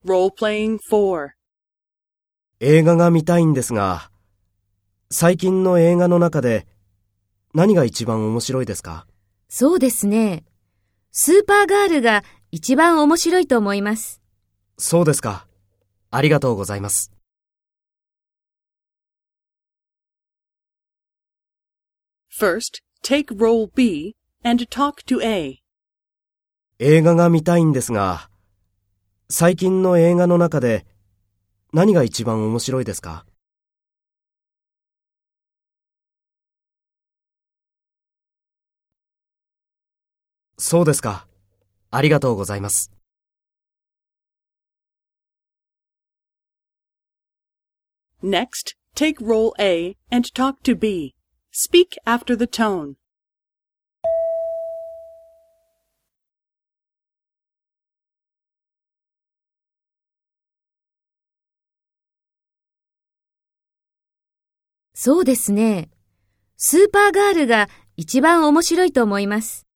Role-playing 4. 映画が見たいんですが、最近の映画の中で何が一番面白いですか？ そうですね。スーパーガールが一番面白いと思います。 そうですか。ありがとうございます。 First, take role B and talk to A. 映画が見たいんですが、最近の映画の中で何が一番面白いですか？そうですか。ありがとうございます。 Next, take role A and talk to B. Speak after the tone. そうですね。スーパーガールが一番面白いと思います。